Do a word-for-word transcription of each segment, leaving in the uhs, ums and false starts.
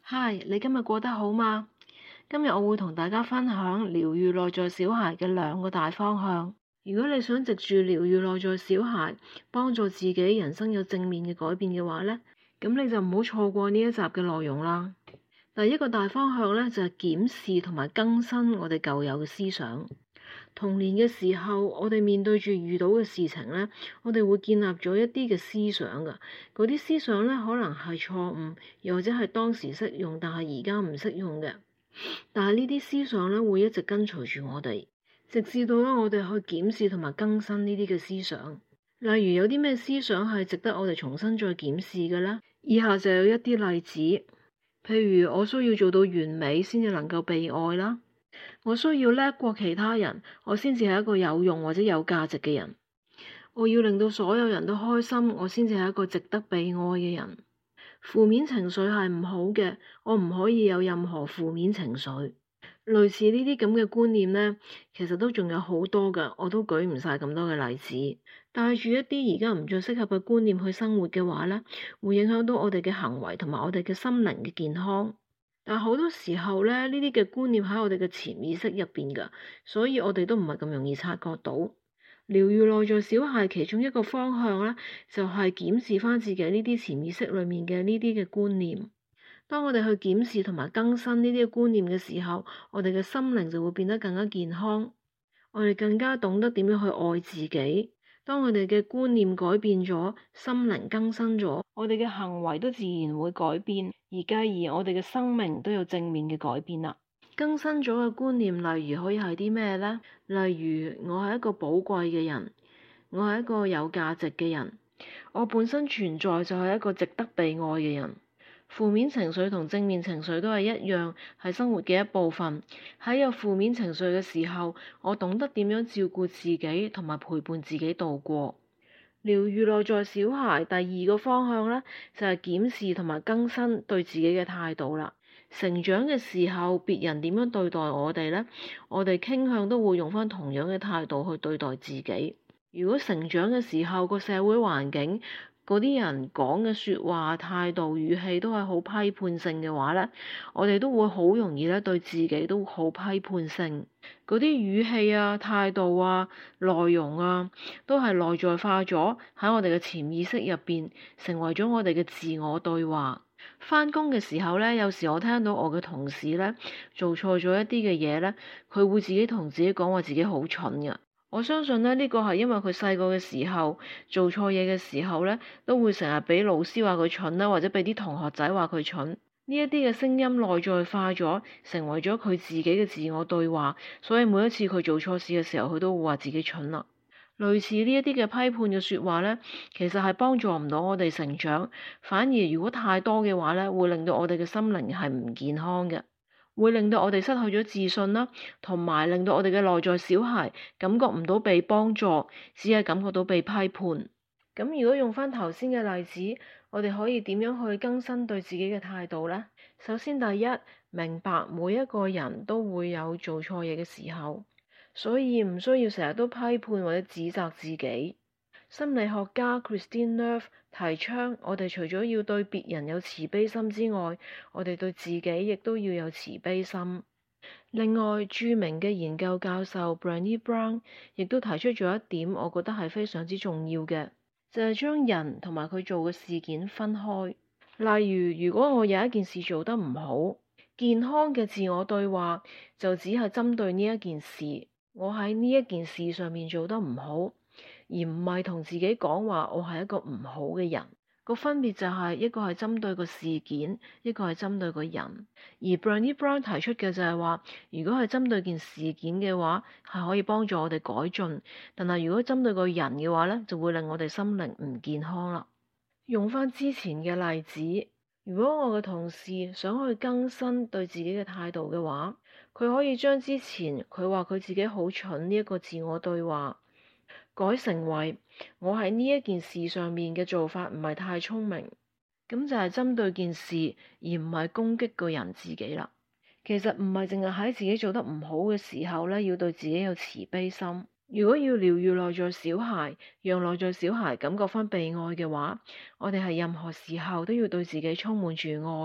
嗨，你今日過得好嗎？今日我會同大家分享療癒內在小孩嘅兩個大方向。如果你想藉住療癒內在小孩，幫助自己人生有正面嘅改變嘅話呢，咁你就唔好錯過呢一集嘅內容啦。第一個大方向呢，就係檢視同埋更新我哋舊有嘅思想。童年嘅時候，我哋面對住遇到嘅事情呢，我哋會建立咗一啲嘅思想㗎。嗰啲思想呢，可能係錯誤，又或者係當時適用，但係而家唔適用嘅。但係呢啲思想呢，會一直跟隨住我哋，直至到咧我哋去檢視同埋更新呢啲嘅思想。例如有啲咩思想係值得我哋重新再檢視嘅呢？以下就有一啲例子，譬如我需要做到完美先至能夠被愛啦。我需要叻過其他人，我先至係一個有用或者有價值嘅人。我要令到所有人都開心，我先至係一個值得被愛嘅人。負面情緒係唔好嘅，我唔可以有任何負面情緒。類似呢啲咁嘅觀念呢，其實都仲有好多㗎，我都舉唔晒咁多嘅例子。帶住一啲而家唔再適合嘅觀念去生活嘅話呢，會影響到我哋嘅行為同埋我哋嘅心靈嘅健康。但好多時候咧，呢啲嘅觀念喺我哋嘅潛意識入邊㗎，所以我哋都唔係咁容易察覺到。療癒內在小孩其中一個方向咧，就係檢視翻自己呢啲潛意識裏面嘅呢啲嘅觀念。當我哋去檢視同埋更新呢啲嘅觀念嘅時候，我哋嘅心靈就會變得更加健康。我哋更加懂得點樣去愛自己。當我哋嘅觀念改變咗，心靈更新咗，我哋嘅行為都自然會改變，而繼而我哋嘅生命都有正面嘅改變啦。更新咗嘅觀念，例如可以係啲咩呢？例如我係一個寶貴嘅人，我係一個有價值嘅人，我本身存在就係一個值得被愛嘅人。負面情緒同正面情緒都係一樣，係生活嘅一部分。喺有負面情緒嘅時候，我懂得點樣照顧自己同埋陪伴自己度過。療癒內在小孩第二個方向呢，就係檢視同埋更新對自己嘅態度啦。成長嘅時候，別人點樣對待我哋呢？我哋傾向都會用翻同樣嘅態度去對待自己。如果成長嘅時候個社會環境，嗰啲人講嘅説話、態度、語氣都係好批判性嘅話呢，我哋都會好容易咧對自己都好批判性。嗰啲語氣啊、態度啊、內容啊，都係內在化咗喺我哋嘅潛意識入邊，成為咗我哋嘅自我對話。返工嘅時候呢，有時我聽到我嘅同事呢做錯咗一啲嘅嘢呢，佢會自己同自己講話自己好蠢㗎。我相信呢，呢個係因為佢細個嘅時候做錯嘢嘅時候呢，都會成日俾老師話佢蠢啦，或者俾啲同學仔話佢蠢。呢一啲嘅聲音內在化咗，成為咗佢自己嘅自我對話，所以每一次佢做錯事嘅時候，佢都會話自己蠢啦。類似呢一啲嘅批判嘅説話呢，其實係幫助唔到我哋成長，反而如果太多嘅話呢，會令到我哋嘅心靈係唔健康嘅。會令到我哋失去咗自信啦，同埋令到我哋嘅內在小孩感覺唔到被幫助，只係感覺到被批判。咁如果用翻頭先嘅例子，我哋可以點樣去更新對自己嘅態度呢？首先第一，明白每一個人都會有做錯嘢嘅時候，所以唔需要成日都批判或者指責自己。心理學家 Kristin Neff 提倡，我哋除咗要對別人有慈悲心之外，我哋對自己亦都要有慈悲心。另外，著名嘅研究教授 Brené Brown 亦都提出咗一點，我覺得係非常之重要嘅，就係將人同埋佢做嘅事件分開。例如，如果我有一件事做得唔好，健康嘅自我對話就只係針對呢一件事，我喺呢一件事上面做得唔好，而唔係同自己講話我係一個唔好嘅人。個分別就係一個係針對個事件，一個係針對個人。而 Brené Brown 提出嘅就係話，如果係針對件事件嘅話，係可以幫助我哋改進；但係如果針對個人嘅話咧，就會令我哋心靈唔健康啦。用翻之前嘅例子，如果我嘅同事想去更新對自己嘅態度嘅話，佢可以將之前佢話佢自己好蠢呢一個自我對話，改成為我喺呢一件事上面嘅做法唔係太聰明，咁就係針對件事而唔係攻擊個人自己啦。其實唔係淨係喺自己做得唔好嘅時候咧，要對自己有慈悲心。如果要療癒內在小孩，讓內在小孩感覺翻被愛嘅話，我哋係任何時候都要對自己充滿住愛。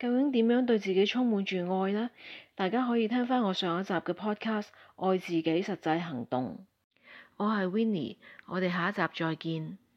究竟點樣對自己充滿住愛呢？大家可以聽返我上一集嘅 podcast《愛自己實際行動》。我係 Winnie，我哋下一集再見。